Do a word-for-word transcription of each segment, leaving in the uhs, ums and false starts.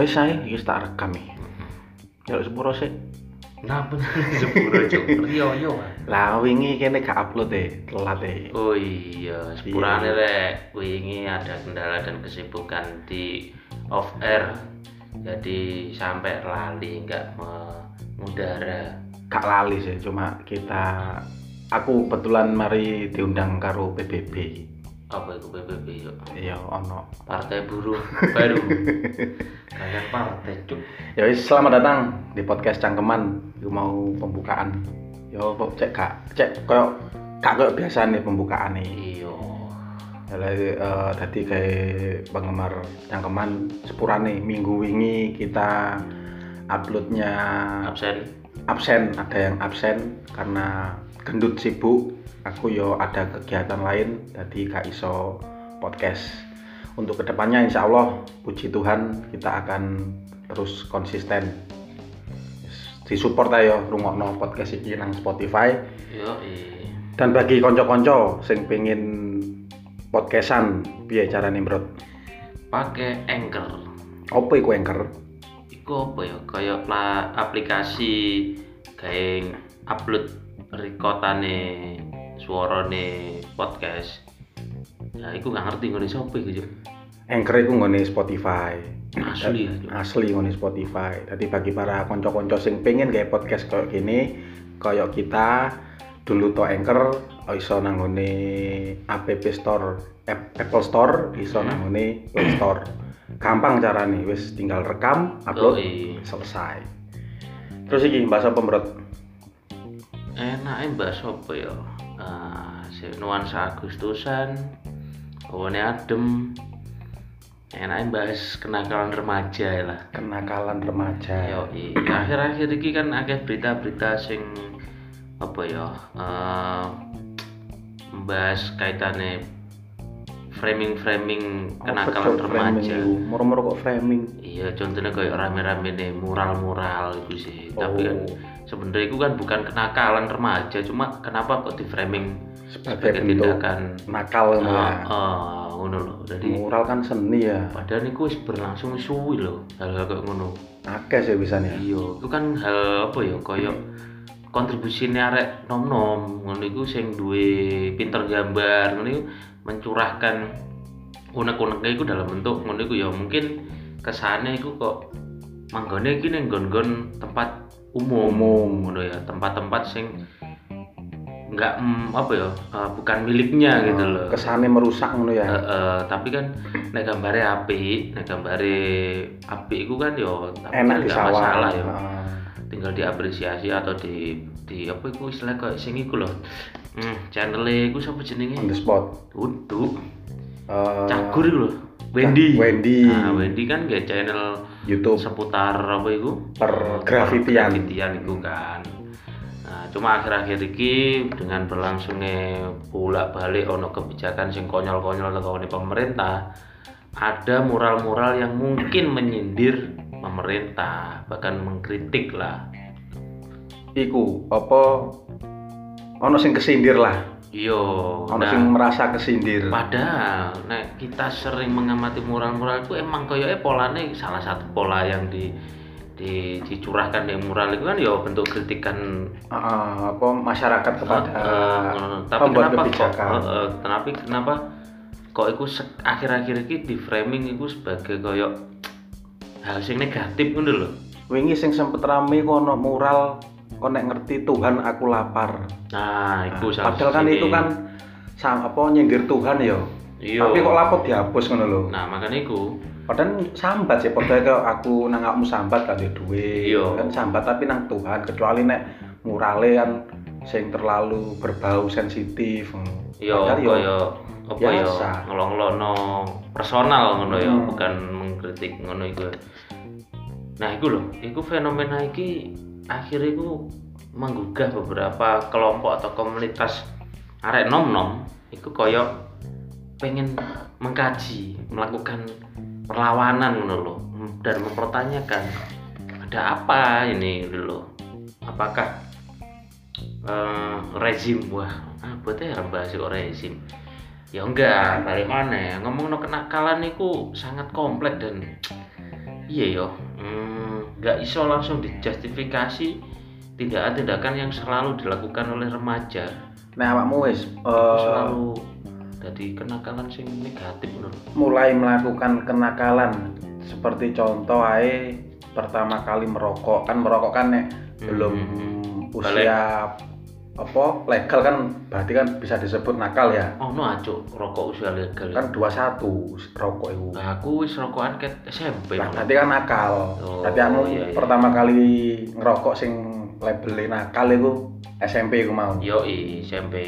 Wis ae iki tak rekam iki. Ya sepuro sik. Napa sepuro cuk? Riyo yo. Lah wingi kene gak upload e, telat e. Oh iya, sepurane rek wingi ada kendala dan kesibukan di off air. Jadi sampai lali enggak mengudara. Gak lali sih, cuma kita aku kebetulan mari diundang karo P B B. Apa itu P B B yo? Iya, ono Partai Buruh Baru. Kalian partai cuk. Ya wis, selamat datang di podcast Cangkeman. Iku mau pembukaan. Yo kok cek gak cek koyo gak koyo biasa nih pembukaan nih. Iya. Jadi uh, tadi kayak penggemar Cangkeman sepurane minggu wingi kita uploadnya Absen. absen, ada yang absen karena gendut sibuk. Aku yo ada kegiatan lain, jadi gak iso podcast. Untuk kedepannya insya Allah, puji Tuhan kita akan terus konsisten. Disupport ayo rungokno podcast iki nang Spotify. Yo iya. Dan bagi konco-konco sing pengen podcastan, piye carane, Bro? Pakai Anchor. Apa iku Anchor? Iku apa ya? Kayak lah aplikasi kayak upload recordane suarane podcast. Ya iku gak ngerti ngene sapa iku yo. Anchor iku nggone Spotify. Asli ya. Asli nggone Spotify. Jadi bagi para konco-konco sing pengen kayak podcast kayak gini, kayak kita dulu to Anchor iso nang ngone App Store, Apple Store, iso nang ngone Play Store. Gampang carane, wis tinggal rekam, upload, Oh, iya. selesai. Terus iki bahasa apa, Bro? Enake bahas apa ya? Ah, si nuansa Agustusan, hawane adem. Enake bahas kenakalan remaja lah. Kenakalan remaja. Yo, iya. Akhir-akhir iki kan akeh berita-berita sing apa ya? Eh membahas kaitane framing-framing kenakalan remaja. Moro-moro kok framing. Iya, contohnya kayak rame-rame nih mural-mural itu sih. Oh. Tapi kan sebenarnya itu kan bukan kenakalan remaja, cuma kenapa kok di framing Sebagai sebagai bentuk tindakan nakal ngono ya. ah ngono lho. Jadi Mural kan seni ya. padahal itu wis berlangsung suwi lho hal-hal kayak ngono. Akeh sih bisa nih. Iya, itu kan hal apa ya kayak kontribusine arek nom-nom ngono iku sing duwe pinter gambar ngono iku mencurahkan unek-uneknya itu dalam bentuk ngono iku ya mungkin kesane iku kok manggone iki ning nggon-nggon tempat umum, Umum. ngono ya, tempat-tempat sing enggak mm, apa ya uh, bukan miliknya gitu loh. Kesane merusak ngono ya. Uh, uh, tapi kan nek gambare apik, nek gambare apik iku kan yo Enak nggak disawang. masalah ya. Heeh. Tinggal diapresiasi atau di di apa iku istilah kayak sing iku lho. Hmm, channel-e iku sapa jenenge? On the spot. Duduk. Eh, Cagur iku lho. Wendy. Wendy. Nah, Wendy kan nggak channel YouTube seputar apa iku? pergrafitian. Grafitian iku kan. Nah, cuma akhir-akhir iki dengan berlangsungnya bolak-balik ono kebijakan sing konyol-konyol tekone pemerintah, ada mural-mural yang mungkin menyindir pemerintah, bahkan mengkritik lah. Iku apa ono sing kesindir lah. Iya, Ono nah, sing merasa kesindir. padahal nek kita sering mengamati mural-mural itu emang koyoke polane salah satu pola yang di di dicurahkan di mural itu kan ya bentuk kritikan Heeh, apa masyarakat kepada uh, tapi pembuat kenapa kok kebijakan. uh, uh, tapi kenapa kok iku sek- akhir-akhir ini di framing iku sebagai koyo hal sing negatif ngono lho. Wingi sing sempet rame ku ono mural kok nek ngerti Tuhan aku lapar. Nah, iku Nah, salah padahal kan siji. itu kan sama apa nyindir Tuhan ya. Iya. Tapi kok lapor dihapus ngono lho. Nah, makanya iku Padahal sambat sih, padahal kok aku nang awakmu sambat kan duwe. Iya. Kan sambat tapi nang Tuhan, kecuali nek murale kan sing terlalu berbau sensitif. yo Padahal yo koyo apa ya biasa. ngelong-ngelokno personal ngono ya, Hmm. bukan mengkritik ngono iku. Nah, iku lho, iku fenomena iki akhirnya iku menggugah beberapa kelompok atau komunitas arek nom-nom iku koyo pengen mengkaji, melakukan perlawanan ngono lho dan mempertanyakan ada apa ini lho. Apakah eh, rezim wah apa teh bahas kok rezim ya enggak balik mana ngomong no kenakalan itu sangat kompleks dan iya yo hmm, nggak iso langsung dijustifikasi tindakan-tindakan yang selalu dilakukan oleh remaja. Nah awakmu wis Iku uh, selalu jadi kenakalan sing negatif lho. mulai melakukan kenakalan seperti contoh ae pertama kali merokok kan merokok kan nek Hmm. belum Balik. usia apa legal kan berarti kan bisa disebut nakal ya. Oh no acuk rokok usia legal. Kan dua puluh satu rokok itu. Nah, aku wis rokokan ket S M P. Nah, malah. berarti kan nakal. Oh, Berarti kamu iya, iya. pertama kali ngerokok sing labelnya nakal itu S M P ku mau. Yo i S M P.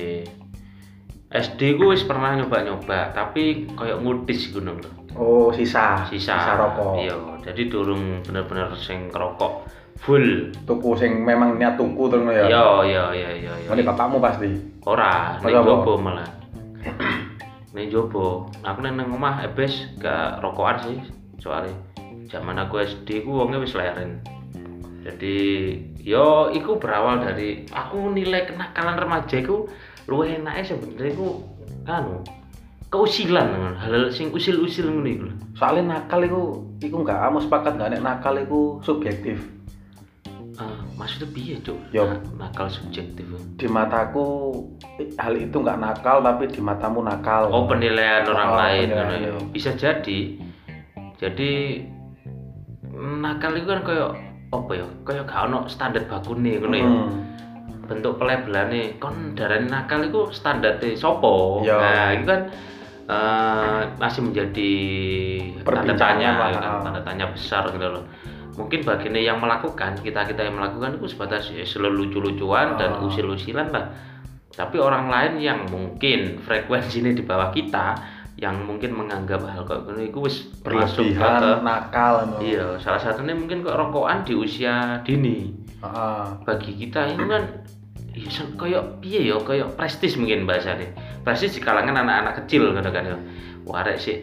S D ku wis pernah nyoba-nyoba, tapi koyo ngudis gunung lho. Oh, sisa. Sisa, rokok. Iya, jadi durung bener-bener sing ngerokok full. Tuku sing memang niat tuku terus ya. Iya, iya, iya, iya, iya. Ini bapakmu pasti. Ora, ning Masa apa? jobo malah. Ning jobo. Aku nang nang omah ebes gak rokokan sih, soalnya zaman aku S D ku wonge wis leren. Jadi yo iku berawal dari aku nilai kenakalan remaja iku luwih enake sebenarnya iku anu keusilan hal-hal sing usil-usil ngono iku lho. Soalnya nakal itu, itu nggak kamu sepakat nggak nek nakal itu subjektif. Ah, maksudnya piye, Cuk? Yo. Na- nakal subjektif. Di mataku eh, hal itu nggak nakal tapi di matamu nakal. Oh, penilaian orang Oh, lain penilaian, ngono ya. iya. Bisa jadi. Jadi nakal itu kan kayak apa ya? Kayak gak ono standar bakune ngono ya. Hmm. Bentuk pelabelane kon darane nakal itu standarte sopo. Iya. Nah, itu kan eh, masih menjadi tanda Perbincangan tanya, lah. ya kan? Tanda tanya besar gitu loh. Mungkin bagiannya yang melakukan, kita-kita yang melakukan itu sebatas ya, lucu-lucuan dan Oh. usil-usilan lah. Tapi orang lain yang mungkin frekuensinya di bawah kita, yang mungkin menganggap hal kayak gini itu wis termasuk ke Berlebihan nakal. no. iya, salah satunya mungkin kok rokokan di usia dini. Heeh. Bagi kita itu kan iya sen- kayak piye ya kayak prestis mungkin bahasanya prestis di kalangan anak-anak kecil kan kan ya warek sih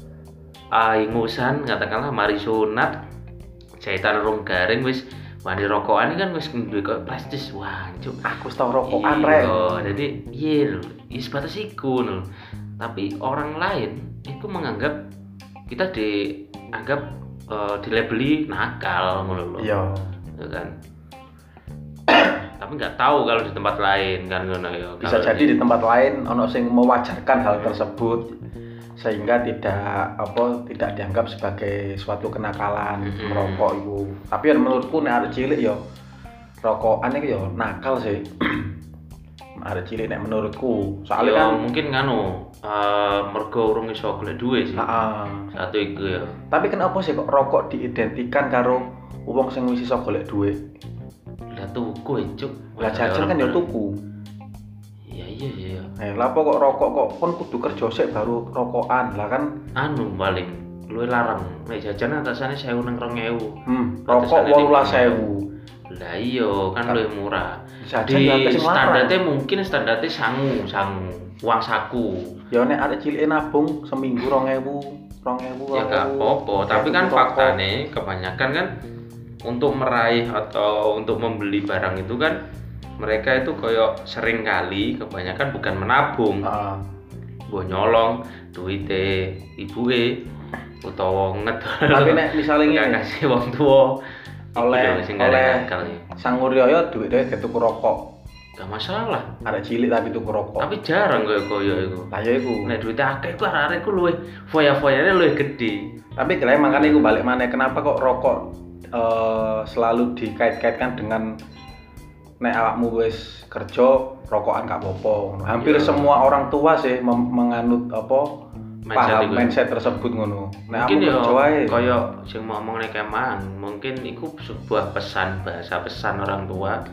aingusan katakanlah mari sunat jahitan rong garing wis wani rokokan ini kan wis duwe kayak prestis wah cuk Aku tahu rokokan rek. iya jadi iya lho iya sebatas iku lho tapi orang lain itu menganggap kita dianggap eh, dilabeli nakal ngono lho Iya. ya kan tapi nggak tahu kalau di tempat lain kan ngono ya Bisa Kalau jadi di tempat lain ono sing mewajarkan hal tersebut sehingga tidak apa tidak dianggap sebagai suatu kenakalan Mm-mm. merokok itu. Tapi ya menurutku nek arek cilik ya rokokan itu ya nakal sih. Arek cilik nek menurutku. Soalnya ya, kan mungkin nganu eh, mergo urung iso golek duwe sih Heeh. satu itu ya Tapi kenapa sih kok rokok diidentikan karo wong sing wis iso golek duit? lah tuku ya cuk Lah jajan kan ya tuku. iya iya iya Eh, lapo kok rokok kok kon kudu kerja sik baru rokokan. Lah kan anu paling luwih larang nek jajan atasane sewu nang rong ewu hmm, Batasannya rokok wolulas ewu. lah iya kan luwih murah Jajan di ya akeh sing larang. standarnya mungkin standarnya sangu sangu uang saku Ya nek arek cilik nabung seminggu rong ewu, rong ewu. ya gak apa-apa tapi kan faktanya kebanyakan kan untuk meraih atau untuk membeli barang itu kan mereka itu koyo sering kali kebanyakan bukan menabung Heeh. mbok nyolong duite ibuke utawa ngedol Tapi nek misale nggak ngene, kasih wong tua oleh sing oleh nakal ya sang Uryoyo duit-duit ke tuku rokok. gak masalah Arek cilik tapi tuku rokok. tapi jarang koyo koyo iku Lah ya iku. nek duite akeh iku arek-arek iku luwih foya-foyane luwih gede Tapi kira makanya iku balik mana kenapa kok rokok eh, selalu dikait-kaitkan dengan nek awakmu wis kerja rokokan gak apa-apa. Hampir Iya. semua orang tua sih mem- menganut apa Mindset paham iku. mindset tersebut ngono. Nek mungkin aku ya kerja wae. kaya sing ngomong nek kemang mungkin iku sebuah pesan bahasa pesan orang tua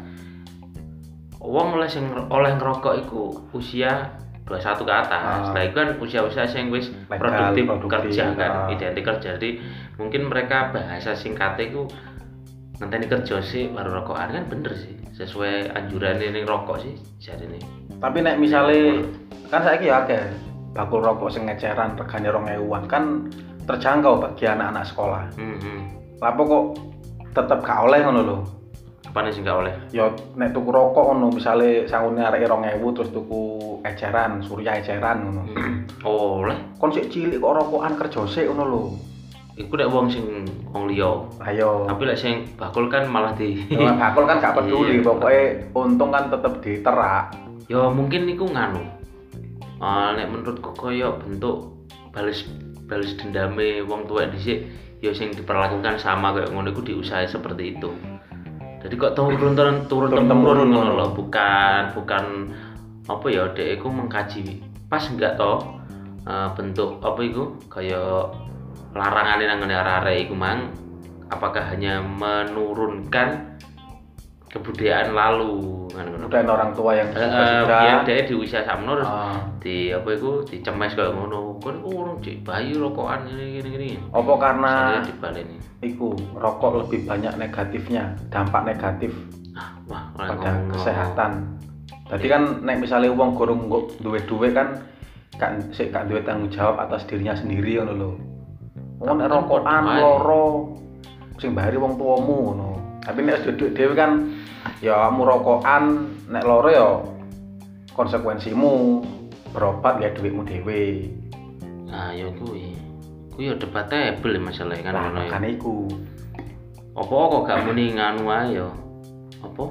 wong oleh sing oleh ngerokok iku usia dua puluh satu ke atas. Ah. Lah iku kan usia-usia sing wis Legal, produktif, produktif, kerja kan, ah. identik kerja. Jadi mungkin mereka bahasa singkatnya iku ngenteni kerja sih baru rokokan kan bener sih sesuai anjuran ini rokok sih jadi nih Tapi nek misale kan saiki ya akeh bakul rokok sing ngeceran regane rong ewuan kan terjangkau bagi anak-anak sekolah. hmm, hmm. Lapo kok tetep gak oleh ngono lho. Apaan sih nggak oleh Ya nek tuku rokok ngono misale sangune arek rong ewu terus tuku eceran, surya eceran ngono. hmm. oleh Kon sik cilik kok rokokan kerja sik ngono lho. iku nek wong sing wong liya. Ayo. Tapi lek sing bakul kan malah di Nah, bakul kan gak peduli, Iya. pokoknya untung kan tetep diterak. Ya mungkin iku nganu. Ah nek menurutku koyo bentuk balas balas dendame wong tuwek dhisik ya sing diperlakukan sama kayak ngono iku diusahakan seperti itu. Jadi kok turun turun turun temurun ngono lho, bukan bukan apa ya dek iku mengkaji pas enggak toh uh, bentuk apa iku kayak larangane nang ngene arek iku mang apakah hanya menurunkan kebudayaan lalu kan ngono. Budaya orang tua yang Heeh, suka biyen dhek di usia sakmono terus Ah. di apa iku dicemes kayak ngono. Kon urung cek bayi rokokan ngene ngene. Apa karena Saya dibaleni. iku rokok lebih banyak negatifnya, dampak negatif Ah, wah, ora pada ngomong. kesehatan. Jadi kan nek misalnya wong gorong duwe-duwe kan kan sik gak duwe tanggung jawab atas dirinya sendiri ngono lho. Wong nek Tapi kan rokokan padha ae. loro sing bayari wong tuamu ngono. Tapi nek wis duwe dhewe kan ya kamu rokokan nek loro ya konsekuensimu berobat ya duitmu dhewe. Nah, ya kuwi. Kuwi ya debatable masalah kan Nah, ngono ya. makane iku. Apa kok gak muni nganu ae ya? Apa?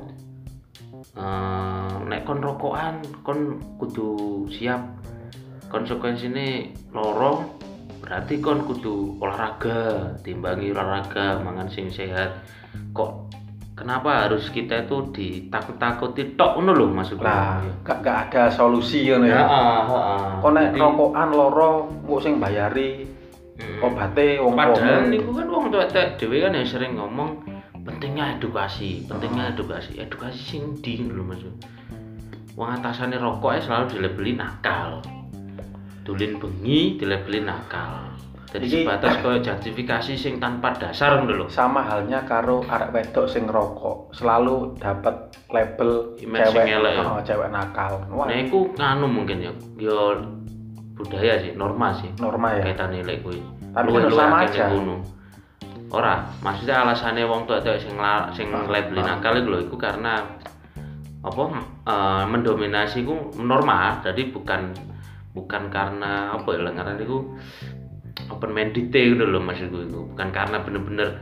Eh, nek kon rokokan kon kudu siap konsekuensine loro berarti kon kudu olahraga, timbangi olahraga, mangan sing sehat. Kok kenapa harus kita itu ditakut-takuti tok ngono lho maksudku. Lah, gak gak ada solusi ngono ya. Heeh, heeh. Kok nek Jadi, rokokan loro kok sing bayari mm, obate wong padahal tuamu. niku kan wong tuwek dhewe kan ya sering ngomong pentingnya edukasi, pentingnya edukasi, edukasi sing ndi lho Mas. Wong atasane rokok selalu dilabeli nakal. Dulin bengi dilabeli nakal. Jadi Iki- sebatas koyo justifikasi sing tanpa dasar ngono lho. Sama halnya karo arek wedok sing ngerokok, selalu dapat label Image cewek, sing elek ya. oh, cewek nakal. Wah, Nah iku nganu mungkin ya. Ya budaya sih, norma sih. norma ya. Kaitane lek kuwi. Tapi Luwih- kan luwih sama akeh aja. ning kono. Ora, maksudnya alasannya wong tuwek-tuwek sing la- sing Ah, labeli ah. nakal iku lho iku karena apa eh, mendominasi iku norma, jadi bukan bukan karena apa ya ngaran iku open minded gitu lho maksudku iku. Bukan karena bener-bener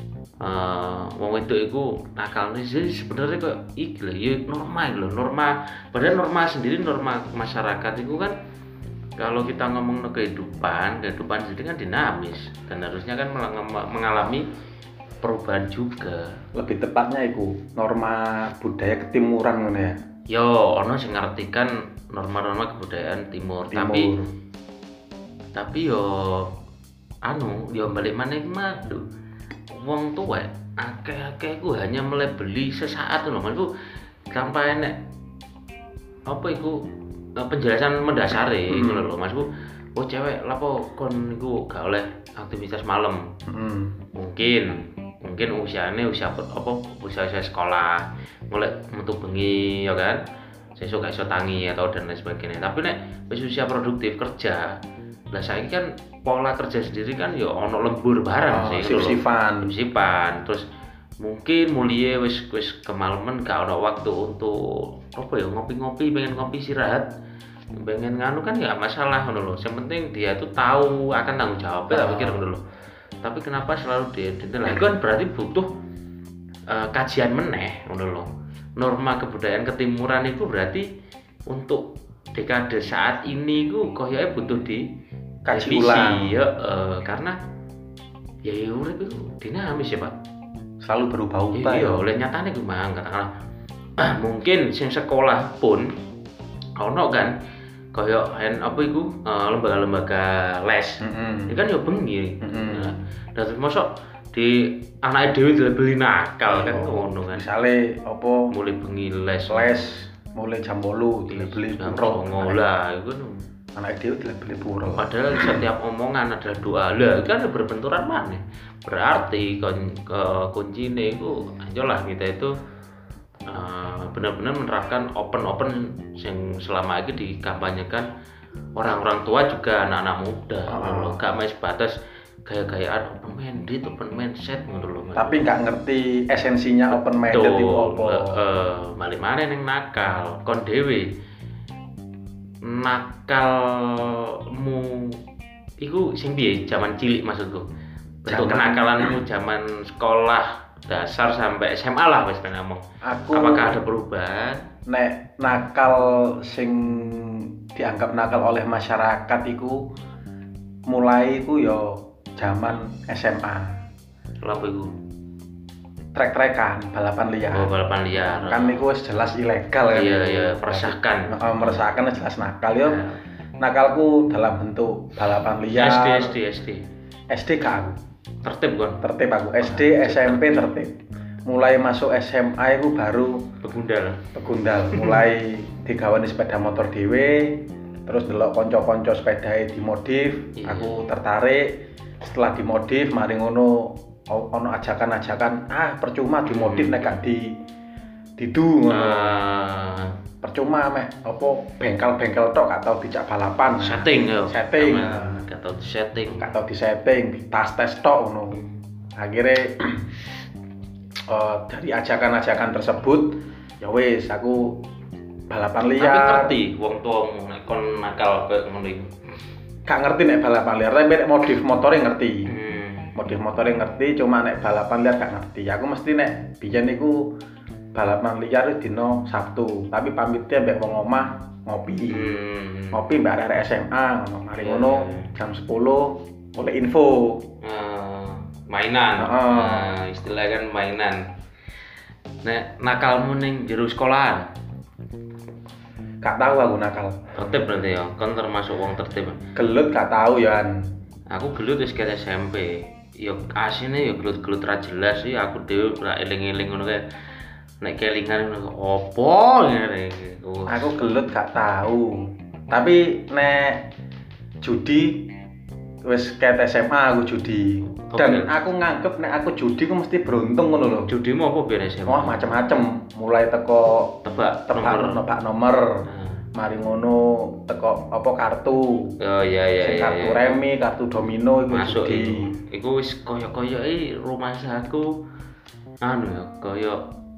eh wong wedok iku nakal. Jadi sebenarnya kok iki lho ya norma iki lho, norma. Padahal norma sendiri norma masyarakat itu kan kalau kita ngomong no kehidupan, kehidupan sendiri kan dinamis dan harusnya kan melang- mengalami perubahan juga. Lebih tepatnya iku norma budaya ketimuran ngono ya. Yo, ono sing ngartikan norma-norma kebudayaan timur, tapi Timur. tapi yo anu yo balik mana iki mah duh, wong tuwek akeh-akeh ku hanya melebeli sesaat lho maksudku sampai enek apa iku eh, penjelasan mendasari Hmm. ngono lho maksudku oh cewek lapo kon iku gak oleh aktivitas malam Hmm. mungkin mungkin usianya usia apa usia usia sekolah mulai metu bengi ya kan sesuk gak iso tangi atau dan lain sebagainya tapi nek wis usia produktif kerja lah saiki kan pola kerja sendiri kan ya ono lembur bareng Oh, sih ngono lho. sip-sipan. Sip-sipan terus mungkin mulie wis wis kemalaman gak ono waktu untuk apa ya ngopi-ngopi pengen ngopi istirahat pengen nganu kan ya masalah ngono lho yang penting dia tuh tahu akan tanggung jawabnya tak pikir ngono lho tapi kenapa selalu dia lah itu kan berarti butuh uh, kajian meneh ngono lho norma kebudayaan ketimuran itu berarti untuk dekade saat ini ku koyoke butuh di Kaji revisi, ulang. ya eh, karena ya ya urip itu dinamis ya Pak. Selalu berubah-ubah Iya, ya. oleh nyatane ku mang katakanlah mungkin sing sekolah pun ono kan kaya hen apa iku eh, lembaga-lembaga les. Mm-mm. Ini kan ya bengi. Mm-mm. Nah, dan terus mosok di anake dhewe dilebeli nakal kan Oh, ngono kan. Misale apa Mulai bengi les les mulai jam bolu dilebeli jam puro. ngolah iku kan. Anak dhewe dilebeli puro. Padahal setiap omongan adalah doa lah kan berbenturan mana berarti kon ke kuncine itu ayolah kita itu uh, benar-benar menerapkan open open yang selama ini dikampanyekan orang-orang tua juga anak-anak muda Ah. loh gak main sebatas gaya-gayaan open minded open mindset ngono lho Tapi nggak ngerti esensinya open minded itu apa. eh balik mana yang nakal kon dewe nakalmu iku sing piye zaman cilik maksudku bentuk kenakalanmu zaman sekolah dasar sampai S M A lah wis ngomong. Aku apakah ada perubahan? Nek nakal sing dianggap nakal oleh masyarakat iku mulai iku yo zaman S M A. Lha apa iku? Trek-trekan, balapan liar. Oh, balapan liar. Kan niku wis jelas ilegal kan. Iya, iya, meresahkan. Heeh, meresahkan jelas nakal yo. Ya. Nakalku dalam bentuk balapan liar. S D, S D, S D. S D gak aku. Tertib kan? Tertib aku. S D, S M P tertib. Mulai masuk S M A itu baru begundal. Begundal. Mulai digawani sepeda motor dhewe, terus delok kanca-kanca sepedae dimodif, yeah. Aku tertarik. Setelah dimodif, mari ngono ono ajakan-ajakan, ah percuma dimodif hmm. nek gak di didu ngono. Uh. Percuma mek apa bengkel-bengkel tok gak tau dicak balapan. Setting yo. Setting. Gak tau di setting. Gak tau di setting, di tas-tes tok ngono. Akhirnya uh, dari ajakan-ajakan tersebut ya wis aku balapan liar. Tapi ngerti wong tuamu nek kon nakal koyo ngono iku. Gak ngerti nek balapan liar, tapi nek modif motore ngerti. Hmm. Modif motore ngerti, cuma nek balapan liar gak ngerti. Aku mesti nek biyen niku balapan liar dino Sabtu, tapi pamitnya mbek wong omah ngopi. Hmm. Ngopi mbek arek S M A ngono. Mari ngono yeah. jam sepuluh oleh info. Uh, mainan. Uh. Nah, istilah kan mainan. Nek nakalmu ning jero sekolahan. Gak tahu aku nakal. Tertib berarti ya, kan termasuk wong tertib. Gelut gak tahu ya. Aku gelut wis kaya S M P. Ya asine ya gelut-gelut ra jelas sih, aku dhewe ora eling-eling ngono kae. Nek kelingan ngono opo ngene iki. Aku gelut gak tahu. Tapi nek judi wis kaya S M A aku judi. Dan okay. Aku nganggep nek aku judi ku mesti beruntung ngono lho. Judimu apa biyen S M A? Wah, macam-macam. Mulai teko tebak tebak nomor, tebak nomor. Hmm. Mari ngono teko apa kartu. Oh iya iya iya. Kartu iya. remi, kartu domino iku masuk judi. Iku wis kaya-kaya iki rumah saku anu ya, kaya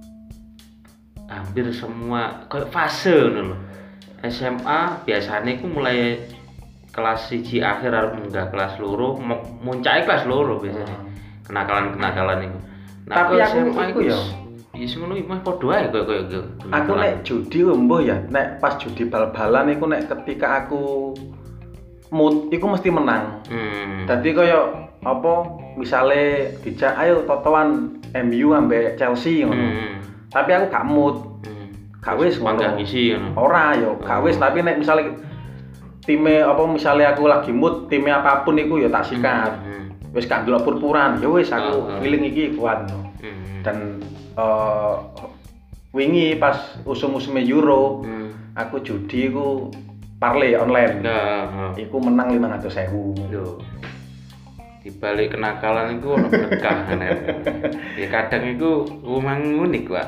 hampir semua kaya fase ngono lho. S M A biasanya iku mulai kelas siji akhir arep munggah kelas loro, muncake kelas loro biasanya. Hmm. Kenakalan-kenakalan iku. Nah, tapi aku S M A iku ya ya sing ngono iki mah padha ae kaya kaya. Aku nek judi mbuh ya, nek pas judi bal-balan iku nek ketika aku mood iku mesti menang. Hmm. Dadi kaya apa misale dijak ayo totoan M U ambek Chelsea ngono. Hmm. Tapi aku gak mood. Hmm. Gak wis mangga ngisi ngono. Ora yo, gak wis, tapi nek misale time apa misale aku lagi mood, time apapun iku ya tak sikat. Hmm. Wis gak ndelok purpuran, ya wis aku oh, feeling oh. iki kuat no. Hmm. Dan uh, wingi pas usum-usume Euro, hmm. aku judi iku parlay online. Nah, uh. Iku menang lima ratus ribu. Lho. Di balik kenakalan iku ono berkah kan. Ya kadang iku memang unik, Pak.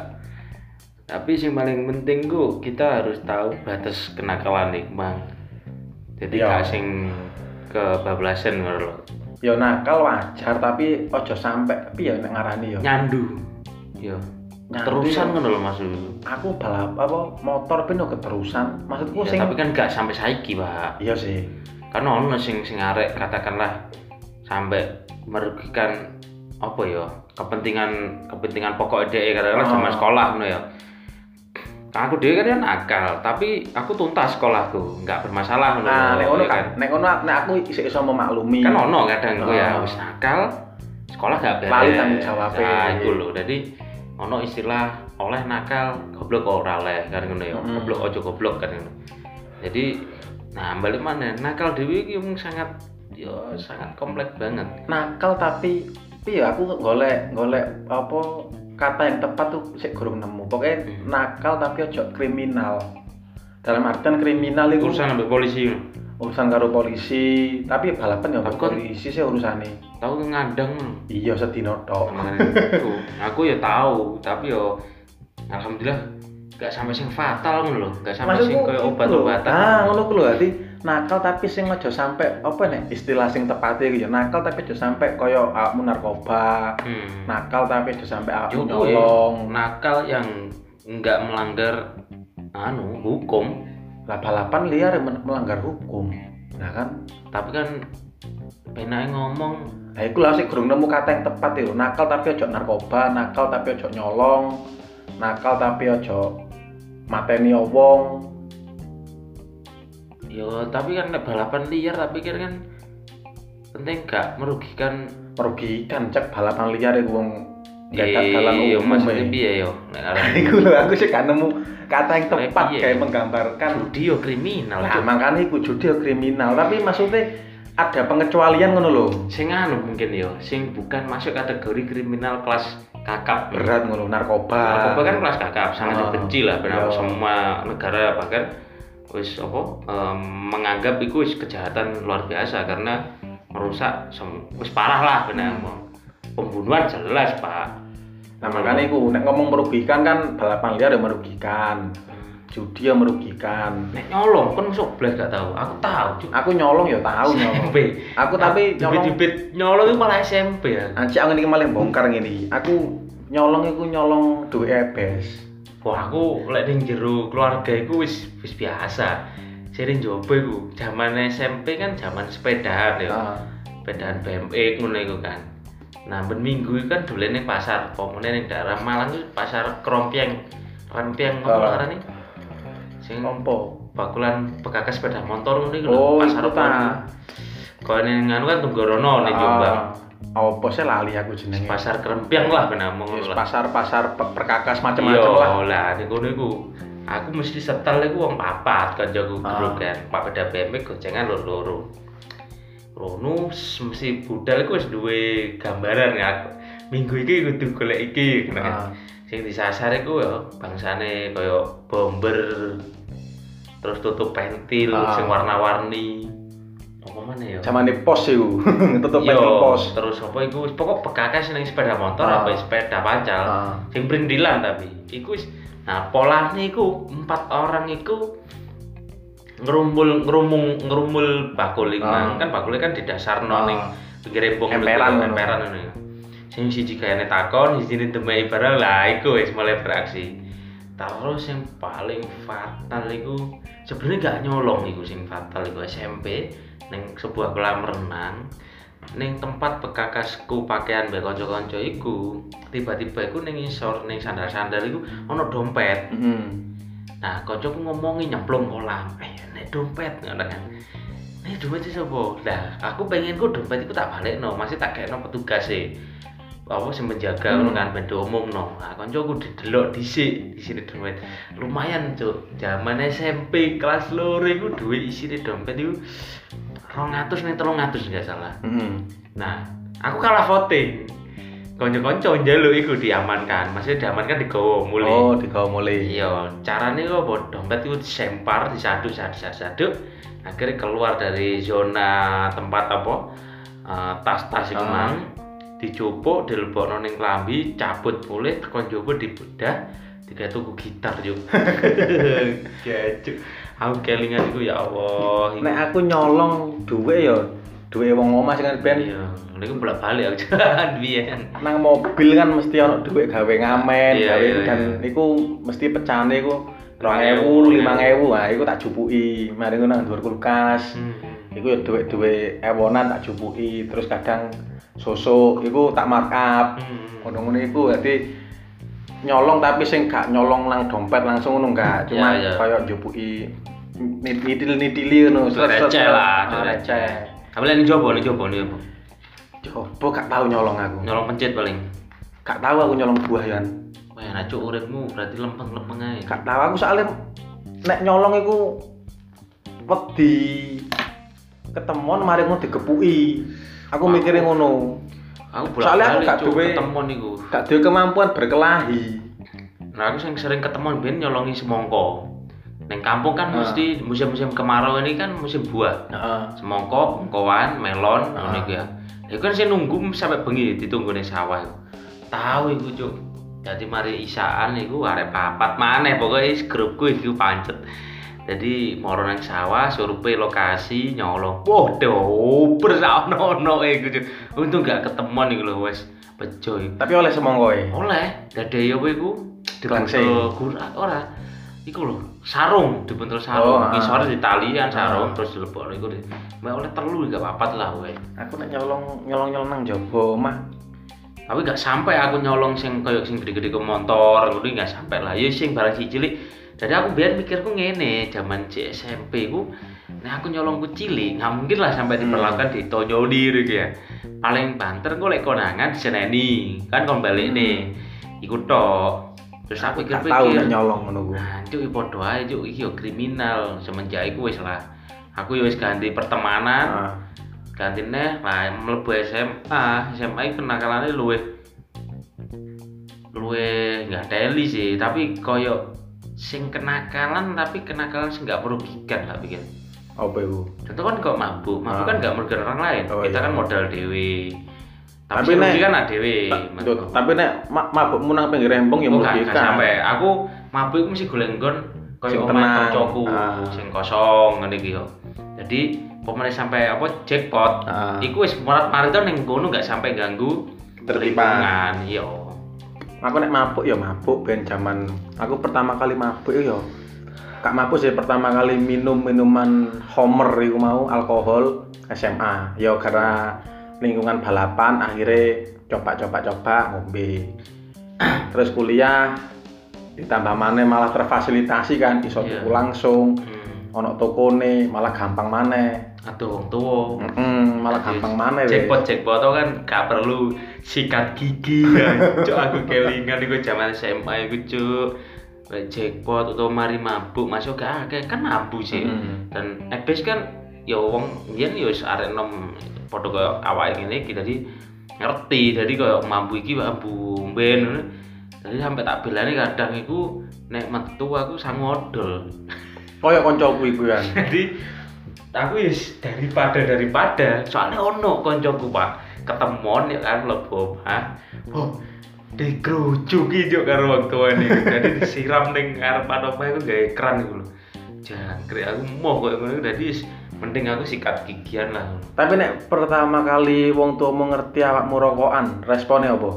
Tapi yang paling penting ku kita harus tahu batas kenakalan nih, Bang. Jadi gak sing kebablasan ngono lho. Ya nakal wajar tapi ojo sampe piye nek ngarani ya. Nyandu. Ya. Terusan ngono lho maksud. Aku balap apa motor ben keterusan. Maksudku ya, sing tapi kan gak sampai saiki, Pak. Iya sih. Karena ono sing sing arek katakanlah sampai merugikan apa ya? Kepentingan kepentingan pokok dhek katakanlah oh. Zaman sekolah ngono ya. Aku dhewe kan nakal, tapi aku tuntas sekolahku, enggak bermasalah ngono. Nah, nek ngono kan, nek ngono nek aku isih iso memaklumi. Kan ono kadang ku ya wis nakal, sekolah gak beres. Lali tanggung jawab. Nah, iku lho. Dadi ono istilah oleh nakal, goblok kok ora oleh kan ngono ya. Hmm. Goblok ojo goblok kan ngono. Jadi nah balik mana nakal dhewe iki mung sangat ya sangat kompleks banget. Nakal tapi piye aku golek golek apa kata yang tepat tuh sik gurung nemu. Pokoknya hmm. nakal tapi ojo kriminal. Dalam artian kriminal itu urusan ambek polisi. Urusan karo polisi, tapi balapan ya ambek polisi sih urusane. Tahu ngandang. Iya sedino tok. Aku ya tahu, tapi yo alhamdulillah gak sampai sing fatal ngono lho, gak sampai sing koyo obat-obatan. Ah, ngono ku lho, dadi nakal tapi sing aja sampai apa nih istilah sing tepatnya gitu ya, nakal tapi aja sampai koyo awakmu narkoba. Hmm. Nakal tapi aja sampai awakmu nyolong. Nakal yang enggak melanggar anu hukum. Lah balapan liar melanggar hukum. Nah kan, tapi kan penake ngomong. Nah, iku lah sik durung nemu kata yang tepat itu. Nakal tapi ojo narkoba, nakal tapi ojo nyolong, nakal tapi ojo mateni wong. Yo, tapi kan nek balapan liar tapi kira kan penting gak merugikan Merugikan cek balapan liar iku wong gagal dalan yo umum. maksudnya piye yo nek aran Iku lho aku sih gak nemu kata yang tepat Piye? kayak menggambarkan. judi yo kriminal. Nah, Cuk. makanya iku judi yo kriminal, tapi maksudnya ada pengecualian ngono lho. Sing anu mungkin yo, sing bukan masuk kategori kriminal kelas kakap. Berat ngono, narkoba. Narkoba kan kelas kakap, sangat Oh, dibenci lah benar iya. semua negara bahkan wis apa em, menganggap itu wis kejahatan luar biasa karena merusak sem- wis parah lah benar. Pembunuhan jelas, Pak. Nah, makanya iku nek ngomong merugikan kan balapan liar yang merugikan. Judi yang merugikan. Nek nyolong kan masuk blas gak tahu. Aku tahu, Cuk. Aku nyolong ya tahu nyolong. S M P. Aku tapi nyolong. Dibit-dibit nyolong itu malah S M P ya. Anci aku ini malah bongkar ngene. Aku nyolong iku nyolong duwe ebes. Wah, aku lek ning jero keluarga iku wis wis biasa. Sering coba iku. Zaman S M P kan zaman sepedaan ya. Heeh. Sepedaan B M X ngono iku kan. Nah, ben minggu iku kan dolen ning pasar. Pomone ning daerah Malang itu pasar Krompieng. Krompieng apa Oh. arane? Sing Ompo. bakulan bekas sepeda motor ngono iku lho, Oh, pasar iku apa? ta. Kau ning anu kan Tunggorono ning Jombang. Apa sih lali aku jenenge. Pasar Krempiang lah benamung Yes, lah. pasar-pasar pe- perkakas macam-macam lah. Iya lah, ning kono iku. Aku mesti setel iku wong papat kancaku grup kan. Papeda B M X gocengan loro-loro. Rono mesti budal iku wis duwe gambaran ya. Minggu iki kudu golek iki. Ah. Sing disasar iku ya bangsane kaya bomber. Terus tutup pentil Ah. sing warna-warni. Apa mana ya? Zaman di pos iku. Tutup Yo, pentil pos. terus apa iku wis pokok bekas ning sepeda motor Ah. apa sepeda pancal. Ah. Sing brindilan tapi iku wis nah polane iku empat orang iku ngerumbul ngerumung ngerumul bakul iku Ah. kan bakule kan didasarno Ah. ning pinggir embung Emperan ngono. emperan ngono. Sing siji kayane takon, siji ndemeki barang lah iku wis mulai beraksi. Terus yang paling fatal iku sebenarnya gak nyolong iku sing fatal iku S M P ning sebuah kolam renang ning tempat bekakasku pakaian mbek kanca-kanca iku tiba-tiba iku ning isor ning sandal-sandal iku ana dompet. Heeh. Nah, kancaku ngomongi nyemplung kolam. Eh, nek dompet ngono kan. Nek dompet iki sapa? Lah, aku pengen ku dompet iku tak balekno, masih tak kekno petugas e. Apa sing menjaga ngono kan ben diumumno. Nah, kancaku didelok dhisik, isine dompet. Lumayan, Cuk. Zaman S M P kelas loro iku duwe isine dompet iku dua ratus ning tiga ratus enggak salah. Heeh. Nah, aku kalah voting. Kanca-kanca njaluk iku diamankan. Maksudnya diamankan digawa mulih. Oh, digawa mulai. Iya, carane kok apa? Dompet itu disempar, disaduk, saduk, saduk, akhirnya keluar dari zona tempat apa? eh, tas-tas iku Ah. mang, dicupuk, dilebokno ning klambi, cabut mulih, tekan njaba dibedah, tiga tuku gitar yo. Gacuk. Aku kelingan iku ya Allah. iku. Nek aku nyolong duwe ya duwe wong omah sing kan ben Iya, niku bolak-balik aku jalan biyen. nang mobil kan mesti ono duit gawe ngamen, Iya, gawe iya, dan iya. iku mesti pecahane iku dua lima ewu, ewu, lima ewu. Nah, iku tak jupuki. Mari ngono nang dhuwur kulkas. Hmm. Iku ya duit-duit ewonan tak jupuki, terus kadang sosok iku tak markup. Hmm. Ngono-ngono iku dadi nyolong tapi sing gak nyolong nang dompet langsung ngono enggak, cuma Iya, iya. kaya jupuki nidil-nidili ngono, Receh lah, Ah, receh. receh. Tapi lek njobo, njobo, njobo. Coba gak tahu nyolong aku. Nyolong pencet paling. Gak tahu aku nyolong buah yan. Wah, enak cuk uripmu berarti lempeng-lempeng ae. Gak tahu aku soalnya nek nyolong iku wedi ketemuan mari ngono digepuki. Aku Aku- mikire ngono. Aku Soalnya aku bolak-balik gak cuk duwe- ketemu niku. Gak duwe kemampuan berkelahi. Nah, aku sing sering ketemu ben nyolongi semongko. Neng kampung kan Ah. mesti musim-musim kemarau ini kan musim buah. Heeh. Semongko, bengkoan, melon, Ah. ngono iku ya. Iku kan sing nunggu sampai bengi ditunggu ning sawah iku. Tahu iku cuk. Jadi mari isaan iku arek papat maneh pokoke grupku iku pancet. Jadi moro nang sawah survei lokasi nyolong. Wah, dober sak ono-ono iku cuk. Untung gak ketemuan iku lho wis bejo iku. Tapi oleh semongkoe. Oleh, dadi yo iku Dilangsing. gura ora. iku lho, sarung dibentul sarung, Oh, ah. ngisore ditali kan sarung Ah. terus dilebokno iku. Mbak oleh telu gak papat lah kowe. Aku nek nyolong nyolong-nyolong nang jaba omah. Tapi gak sampai aku nyolong sing koyo sing gede-gede ke motor, ngono gak sampai lah. Ya sing barang cilik. Jadi aku biar mikirku ngene, zaman C S M P ku nek aku nyolong ku cilik, gak mungkin lah sampai diperlakukan di tonjoli gitu ya. Paling banter golek konangan diseneni, kan kon balik nih. Iku tok. Terus aku Gak pikir-pikir. tau nek nyolong ngono ku. Nah, cuk padha ae cuk iki yo kriminal. Semenjak iku wis lah. Aku yo wis ganti pertemanan. Ah. Ganti neh lah mlebu S M A. S M A iki kenakalane luwih luwih enggak teli sih, tapi koyo sing kenakalan tapi kenakalan sing enggak merugikan lah pikir. Apa iku? Contoh kan kok mabuk, mabuk Ah. kan enggak merugikan orang lain. Oh, Kita iya. kan modal dewe. Tapi, Tapi tapi nek- kan ada dewe. Ta- Tuh, tapi nek ma- mabukmu nang pinggir rembong ya Oh, gak, gak merugikan. sampai. Aku mabuk iku mesti golek nggon Sing koyo tenang. omahe kancaku Ah. sing kosong ngene iki yo. Jadi pemene sampai apa jackpot. Ah. Iku wis marat-marit ning kono gak sampai ganggu Ketertiban. lingkungan. Iya. Aku nek mabuk ya mabuk ben zaman aku pertama kali mabuk ya gak mabuk sih pertama kali minum minuman Homer iku mau alkohol S M A. Ya karena lingkungan balapan akhirnya coba-coba-coba ngombe. Terus kuliah ditambah maneh malah terfasilitasi kan iso Iya. tuku langsung Hmm. ono tokone malah gampang maneh. Aduh wong tuwa. Mm, malah gampang maneh weh. Jackpot jackpot kan gak perlu sikat gigi ya. Cuk aku kelingan iku zaman S M A iku cuk. Kayak jackpot atau mari mabuk masuk gak akeh kan mabuk sih. Mm. Dan ebes kan ya wong mbiyen ya wis arek enom padha koyo awake ngene iki dadi ngerti. Dadi koyo mabuk iki mabuk ben. Dadi sampe tak belani kadang iku nek metu aku sang odol. Koyo koncoku iku kan. Jadi aku wis daripada daripada soalnya ono koncoku Pak ketemuan ya kan mlebu omah. Oh, dikrucuki juk karo wong tuane. Jadi disiram ning ngarepan omah iku gawe keran iku lho. Jangkrik aku mau koyo ngono dadi wis mending aku sikat gigian lah. Tapi nek pertama kali wong tuamu ngerti awakmu rokokan, responnya apa?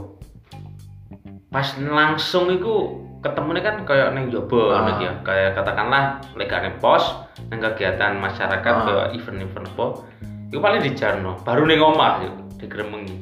Pas langsung iku ketemunya kan kayak neng jobo Ah. ngono ya. Kayak katakanlah lek gak neng pos, neng kegiatan masyarakat Ah. kayak event-event apa. Iku paling di Jarno, baru neng omah yo digremengi.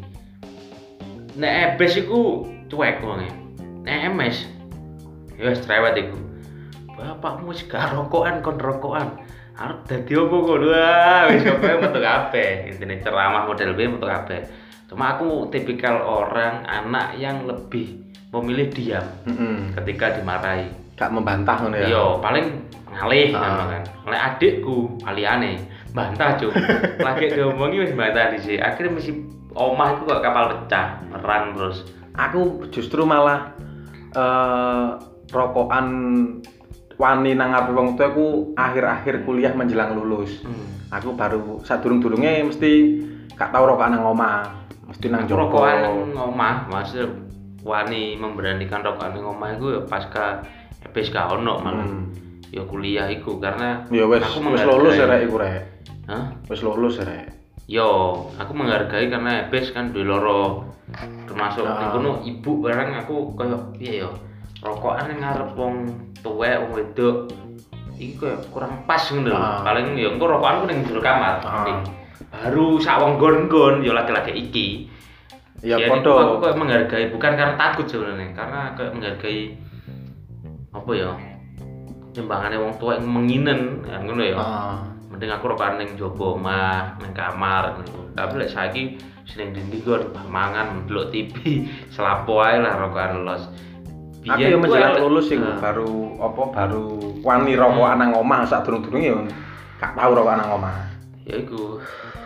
Nek ebes iku cuek wonge. Nek emes ya wis cerewet iku. Bapakmu wis gak rokokan kon rokokan. Arep dadi opo kok? Wah, wis kabeh metu kabeh. Intine ceramah model B metu kabeh. Cuma aku tipikal orang anak yang lebih memilih diam Heeh. ketika dimarahi. Gak membantah ngono ya. Iya, paling ngalih Ah. ngono kan. Oleh adikku aliyane bantah cuk. Lagi diomongi wis bantah dhisik. Akhirnya mesti omah iku kok kapal pecah, perang terus. Aku justru malah eh rokokan wani nang ngarepe wong tuaku akhir-akhir kuliah menjelang lulus. Hmm. Aku baru sadurung-durunge mesti gak tau rokokan nang omah. Mesti nang joko. Rokokan omah, maksud wani memberanikan rokokan ning omah iku ya pasca ebes gak ono malah. Hmm. Ya kuliah iku karena Ya wis aku wis menghargai. lulus ya rek iku rek. Hah? Wis lulus ya rek. Yo, aku menghargai karena ebes kan duwe loro. Termasuk Ah. ning kono ibu barang aku koyo piye yo. Rokokan ning ngarep wong tuwek wong wedok. Iki koyo kurang pas ngono lho. Ah. Paling yo engko rokokanku ning jero kamar. Ah. Ning baru sak wong gon-gon yo laki-laki iki. Ya Jadi aku padha. koyo menghargai bukan karena takut sebenarnya, karena koyo menghargai apa ya? Timbangane wong tuwek menginen kan ngono ya. Ah. Mending aku rokokan ning jaba omah, ning kamar ngono. Tapi lek saiki sing ndi gon mangan ndelok T V, selapo ae lah rokokan los. Aku ya menjelang lulus iku baru apa baru wani rokokan nang omah sak durung-durunge ya gak tau rokokan nang omah. Ya iku.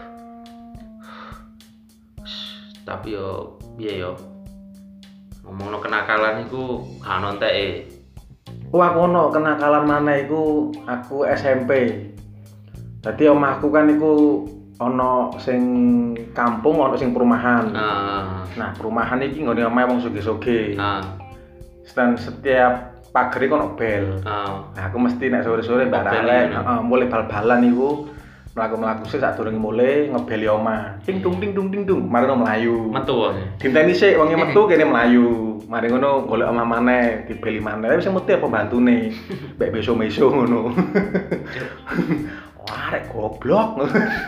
Tapi yo piye yo. Ngomongno kenakalan iku gak ono enteke. Oh aku ono kenakalan mana iku aku S M P. Dadi omahku kan iku ono sing kampung ono sing perumahan. Ah, Nah, perumahan iki nggone omahe wong sugih-sugih. ah, Dan setiap pager iku ono bel. ah. Nah, aku mesti nek sore-sore mbak Oh, bel arek, iya. heeh, mulai bal-balan iku mlaku-mlaku sik sadurunge mulai ngebeli omah. Ting tung ting tung ting tung, mari ngono mlayu. Metu wae. Dinteni sik wonge metu kene mlayu. Mari ngono golek omah maneh, dibeli maneh. Wis mesti apa bantune. Mbek beso-meso ngono. Wah, arek goblok.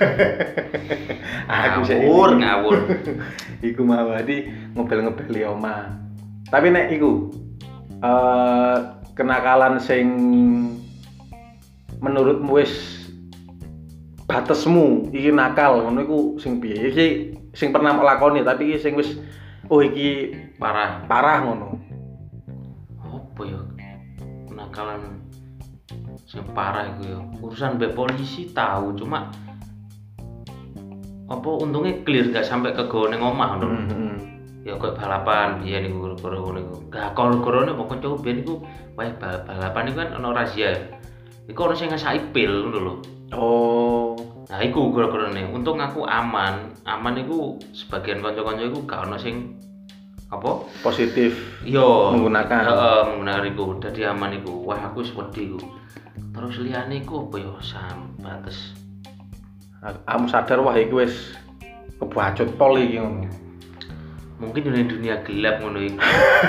Aku sik ngawur, ngawur. Iku mau di ngebel-ngebeli omah. Tapi nek iku eh kenakalan sing menurutmu wis batesmu iki nakal ngono iku sing piye? Iki sing pernah mbok lakoni tapi iki sing wis oh iki Parah. parah ngono. Apa ya? Kenakalan sing parah iku ya. Urusan mbek polisi tahu, cuma apa untungnya clear gak sampai ke gone omah ngono. Heeh. Ya koyo balapan biyen niku gara-gara ngono iku. Gak kol-kolone apa kanca biyen iku wae balapan iku kan ono razia. Iku ono sing ngesaki pil ngono lho. Oh, Nah iku gara-garane. Untung aku aman. Aman iku sebagian kanca-kanca iku gak ono sing apa? positif Iya, menggunakan. heeh, menggunakan iku. Dadi aman iku. Wah, aku wis wedi iku. Terus liyane iku apa ya sambates. Kamu sadar wah iki wis kebacut pol iki ngono. Mungkin dunia dunia gelap ngono iku.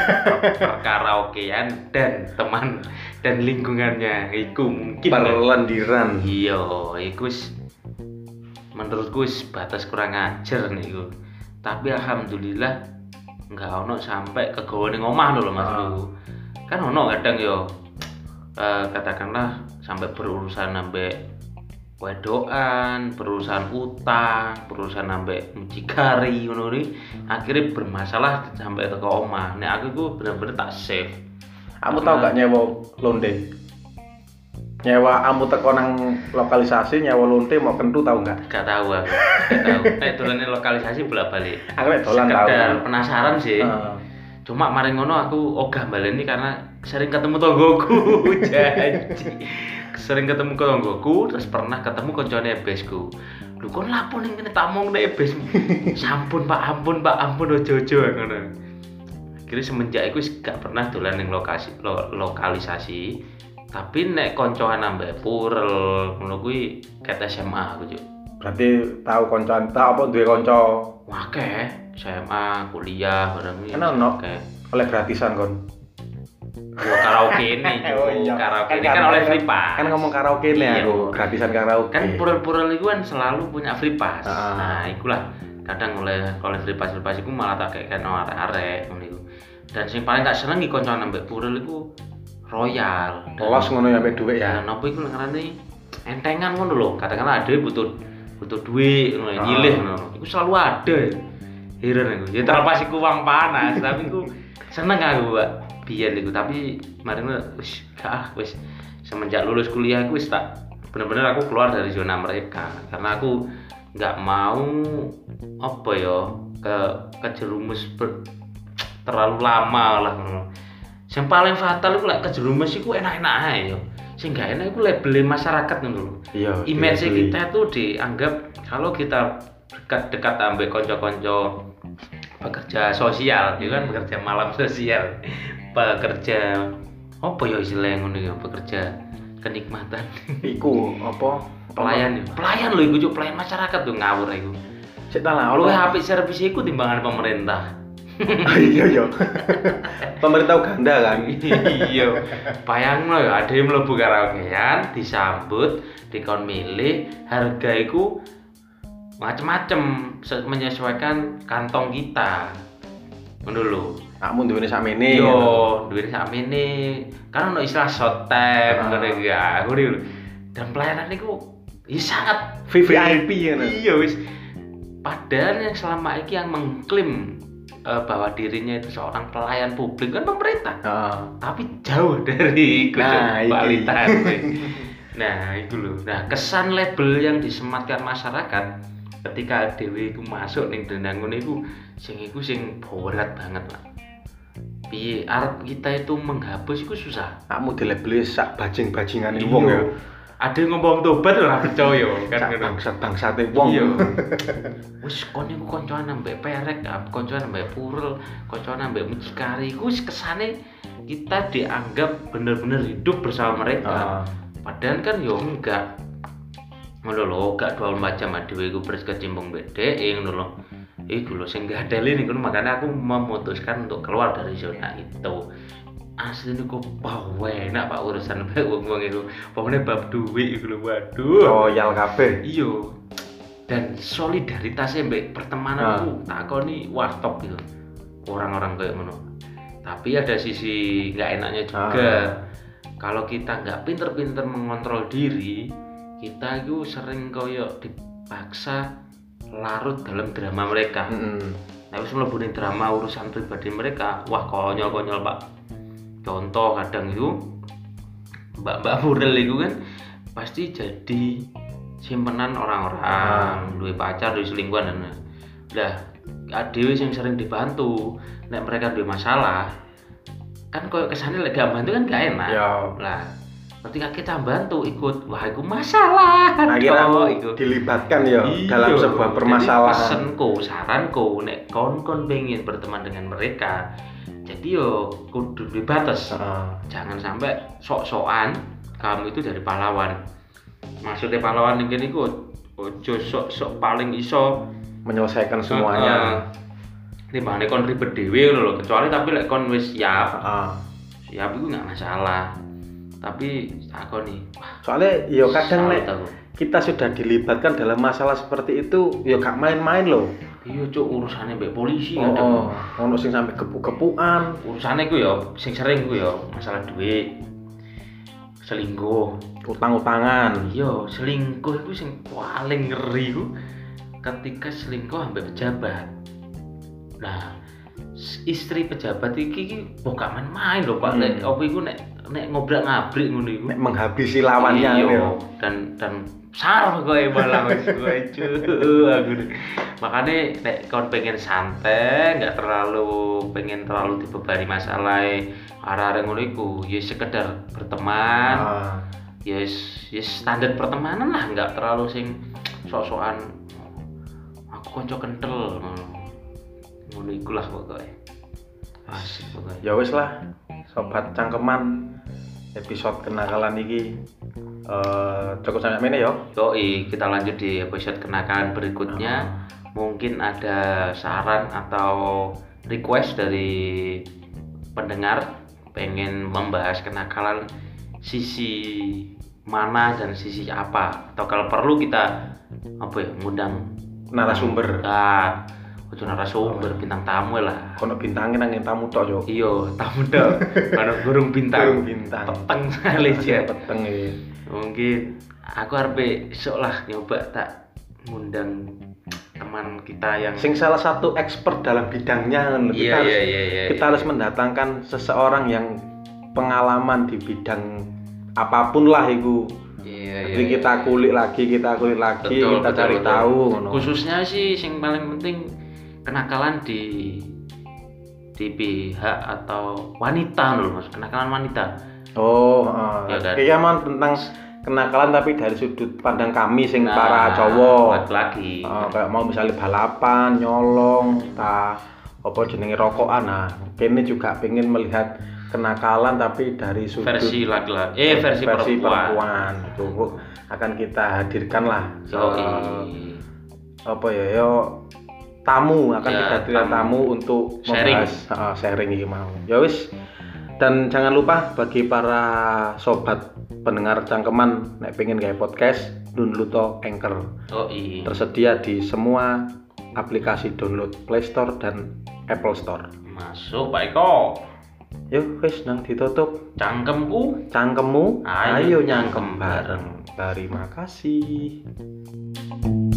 Perkaraokean dan teman dan lingkungannya iku mungkin Perlendiran. iya, iku wis menurutku wis batas kurang ajar niku. Tapi alhamdulillah enggak ono sampai ke gawone omah lho maksudku. Kan ono kadang yo eh, katakanlah sampai berurusan sampai wedokan, berurusan utang, berurusan sampai mucikari ngono kuwi akhirnya bermasalah sampai ke omah. Nek aku iku bener-bener tak save. Kamu tahu gak nyewa londe? Nyewa kamu teko nang lokalisasi nyewa lonte mau kentu tahu gak? Gak tahu aku. Gak tahu. Nek dolane lokalisasi bolak-balik. Aku nek dolan tahu. Sekedar penasaran sih. Heeh. Cuma mari ngono aku ogah baleni karena sering ketemu tonggoku. Janji. Sering ketemu tonggoku, terus pernah ketemu koncone ebesku. Lho kon lapo ning kene tak mong nek ebes. Sampun Pak, ampun Pak, ampun ojo-ojo ngono. Akhirnya semenjak itu gak pernah dolan ning lokasi lo, lokalisasi. Tapi nek koncoan ambek purel ngono kuwi ket S M A aku, Cuk. Berarti tahu koncoan, tahu apa duwe kanca Wakeh, S M A, kuliah bareng iki. Kan ono. Oke. oleh gratisan kon. Yo karaoke ini, Oh iya. karaoke ini Kan kan oleh kan- free pass. Kan ngomong karaoke nih Iya. aku, gratisan karaoke. Kan purel-purel itu kan selalu punya free pass. Ah. Nah, ikulah kadang oleh oleh free pass free pass iku malah tak kayak kena arek-arek ngono iku. Dan sing paling tak seneng iki kanca ambek purel iku royal. Dan- Polos ngono ya mbek dhuwit ya. Dan apa iku ngarane entengan ngono lho. Katakanlah ada butuh butuh duit ngono Ah. nyilih ngono. Iku selalu ada. Heran aku. Ya terlepas iku uang panas, tapi iku seneng aku, Pak. Biyen iku tapi mari wis gak ah wis semenjak lulus kuliah aku wis tak bener-bener aku keluar dari zona mereka karena aku nggak mau apa ya ke kejerumus ber, terlalu lama lah ngono. Yang paling fatal iku lek kejerumus iku enak-enak ae yo. Sing gak enak iku label masyarakat ngono lho. Iya. Image dilebeli. kita tuh dianggap kalau kita dekat-dekat ambek konco-konco pekerja sosial, ya kan pekerja malam sosial, pekerja apa ya istilahnya ngono ya, pekerja kenikmatan, Iku apa? pelayan ya, pelayan lho iku Cuk, pelayan masyarakat tuh ngawur iku. Sik ta lah, Luwih ono. apik servis iku timbangan pemerintah. Iya iya. Pemerintah Uganda kan. Iya, bayangno ya ada yang mlebu karaokean, disambut, dikon milih, harga iku macem-macem se- menyesuaikan kantong kita. Ngono lho. Kamu duwene sakmene. Yo, duwene sakmene. Kan ono istilah short time Ah. ngono iki ya. Ngono lho. Dan pelayanan niku ya sangat V V I P ya. Iya wis. Padahal yang selama ini yang mengklaim eh, bahwa dirinya itu seorang pelayan publik kan pemerintah. Heeh. Tapi jauh dari itu Nah, iki. kualitas. Nah, itu loh. Nah, kesan label yang disematkan masyarakat ketika dewe iku masuk ning dendang ngono iku sing iku sing berat banget lah. Piye arep kita itu menghapus iku susah. Kamu dilebeli sak bajing-bajingane wong ya. Ada yang ngomong tobat ora percaya kan Sak ngono. bangsat-bangsate wong. Iya. Wis kon niku koncoan ambek perek, koncoan ambek purel, koncoan ambek mucikari iku wis kesane kita dianggap bener-bener hidup bersama mereka. Ah. Padahal kan yo enggak. ngono lho, gak dua puluh empat jam dhewe iku berkecimpung mbek dhek ngono lho. Iku lho sing gadeli niku makanya aku memutuskan untuk keluar dari zona itu. Asli niku bawe enak Pak urusan mbek wong-wong iku. Pokoknya bab duit iku lho waduh. Royal kabeh. Iya. Dan solidaritasnya mbek pertemanan iku takoni wah top gitu. Orang-orang kayak ngono. Tapi ada sisi nggak enaknya juga. Ah. Kalau kita nggak pinter-pinter mengontrol diri, kita itu sering koyo dipaksa larut dalam drama mereka. Mm-hmm. Nah, wis mlebu ning drama urusan pribadi mereka, wah konyol-konyol Pak. Contoh kadang itu mbak-mbak model itu kan pasti jadi simpenan orang-orang, ah. duwe pacar, duwe selingkuhan dan lah adewe yang sering dibantu. Nek mereka duwe masalah, kan koyo kesane lek gak bantu kan gak enak. Yo. Lah, ketika kita bantu ikut, wah itu masalah. Akhirnya aku dilibatkan ya dalam sebuah permasalahan. Jadi pesenku, saranku, nek kon-kon pengen berteman dengan mereka, jadi yo kudu dibatas. Uh. Jangan sampai sok-sokan kamu itu dari pahlawan. Maksudnya pahlawan ini iku ojo sok-sok paling iso menyelesaikan semuanya. Uh, uh. Timbangane kon ribet dhewe lho, kecuali tapi lek kon wis siap. Uh. Siap itu enggak masalah. Tapi aku nih, soalnya ya kadang nek kita sudah dilibatkan dalam masalah seperti itu, ya gak main-main loh. Iya cuk, urusannya mbek polisi oh, kadang. Oh, ono sing sampe gepuk-gepukan. Urusannya ku ya sing sering ku ya masalah duit. Selingkuh, utang-utangan. Iya, selingkuh itu sing paling ngeri ku ketika selingkuh ambek pejabat. Nah, istri pejabat iki kok gak main-main lho Pak. Nek opo iku nek nek ngobrak-ngabrik ngono iku. Nek menghabisi lawannya iya, dan dan sarah kowe malah wis kowe aku. Makane nek kon pengen santai, enggak terlalu pengen terlalu dibebani masalah arek-arek ngono iku, ya sekedar berteman. Ah. Ya ya standar pertemanan lah, enggak terlalu sing sok-sokan aku kanca kental ngono. Ngono iku lah pokoke. Asik pokoke. Ya wis lah, sobat cangkeman, episode kenakalan iki uh, cukup sampai mana ya? Yoi, kita lanjut di episode kenakalan berikutnya. Uh. Mungkin ada saran atau request dari pendengar pengen membahas kenakalan sisi mana dan sisi apa, atau kalau perlu kita apa ya ngundang narasumber. Nah, itu narasumber bintang tamu lah. Kono bintangnya nang tamu tok yo. Iya, tamu tok. Kono burung bintang. Burung bintang. Peteng sekali ya. Peteng iki. Mungkin aku arep esuk lah nyoba tak ngundang teman kita yang sing salah satu expert dalam bidangnya kan. Iya, kita harus, iya, iya, iya, kita iya. harus mendatangkan seseorang yang pengalaman di bidang apapun lah itu. Iya, Jadi iya, kita kulik lagi, kita kulik lagi, betul, kita betul, cari betul. tahu. No. Khususnya sih yang paling penting kenakalan di di pihak atau wanita loh Mas, kenakalan wanita. Oh, uh, ya kan? Kayaknya tentang kenakalan tapi dari sudut pandang kami sing nah, para cowok. Lagi. Uh, kayak mau misalnya balapan, nyolong, ta apa jenenge rokokan. Nah, kene juga pengen melihat kenakalan tapi dari sudut versi laki-laki. Eh versi, versi perempuan. perempuan. Itu akan kita hadirkan lah. So, uh, apa ya yo tamu akan ya, kita hadirkan tamu. tamu untuk sharing. membahas uh, sharing iki mau. Ya wis. Dan jangan lupa bagi para sobat pendengar cangkeman nek pengen gawe podcast, download to Anchor. Oh iya. Tersedia di semua aplikasi download Play Store dan Apple Store. Masuk Pak Eko. Yuk wis nang ditutup. Cangkemku, cangkemmu, ayo, ayo nyangkem bareng. Terima kasih.